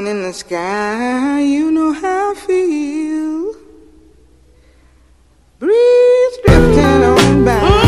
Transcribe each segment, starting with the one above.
in the sky, you know how I feel. Breeze drifting on by.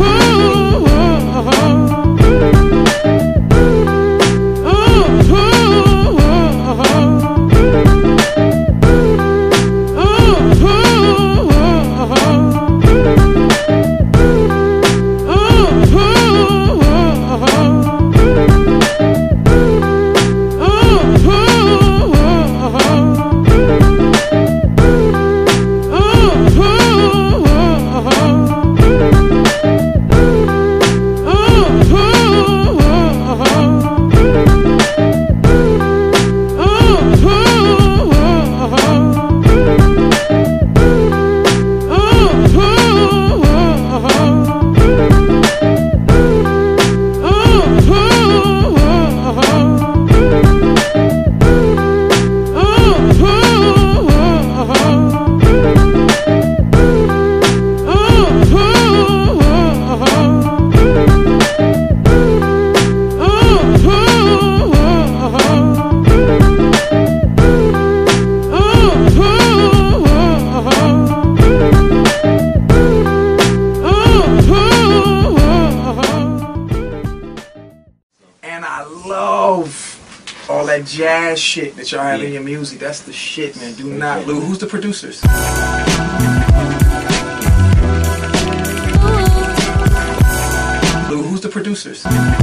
Jazz shit that y'all have in your music, that's the shit, man. Do not lose. Who's the producers? Lou, who's the producers?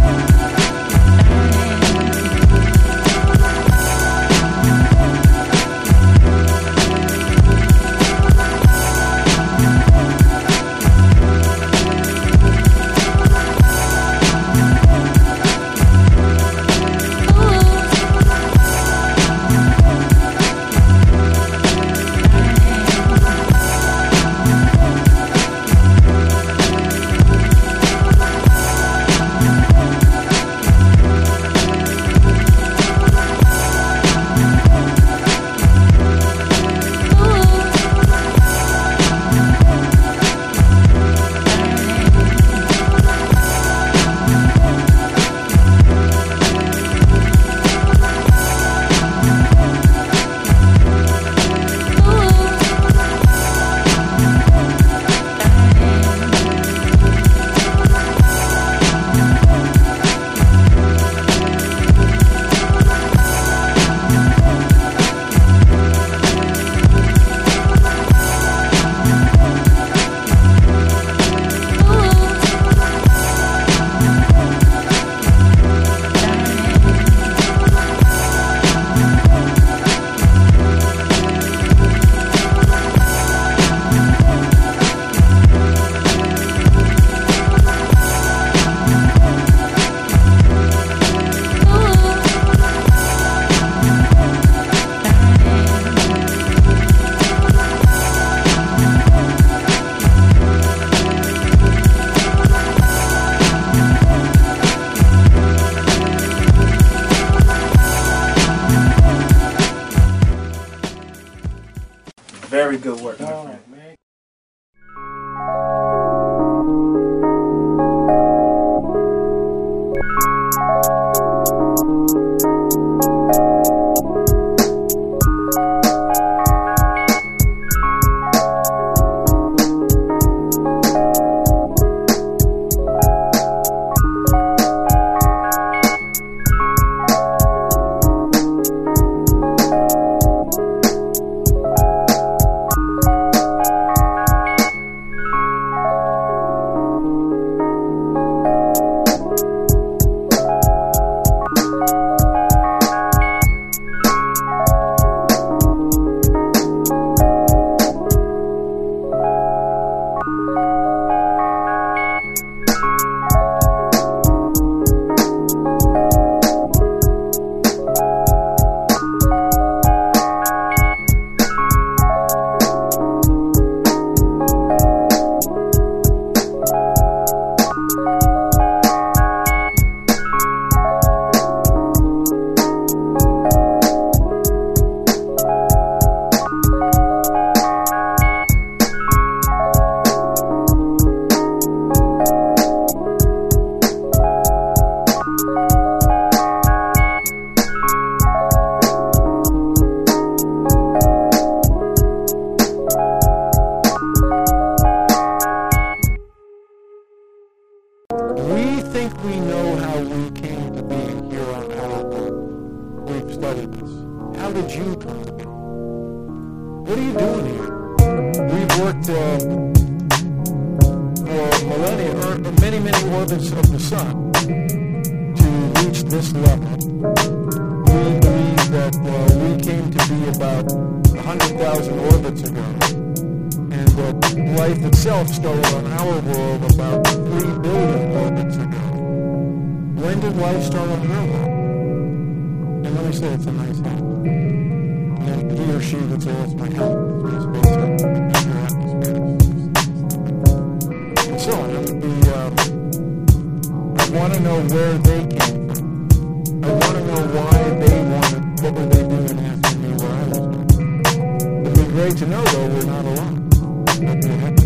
Very good work, my friend. think we know how we came to be here on our world. We've studied this. How did you come to be? What are you doing here? We've worked for millennia, or many, many orbits of the sun to reach this level. We believe that we came to be about 100,000 orbits ago, and that life itself started on our world about 3 billion orbits ago. When did life start on your world? And let me say, it's a nice house. And he or she would say, that's my house. It's my space, your atmosphere. And so on. I want to know where they came from. I want to know why they wanted, what were they doing asking me what I was doing. It'd be great to know, though, we're not alone. That'd be a heck of a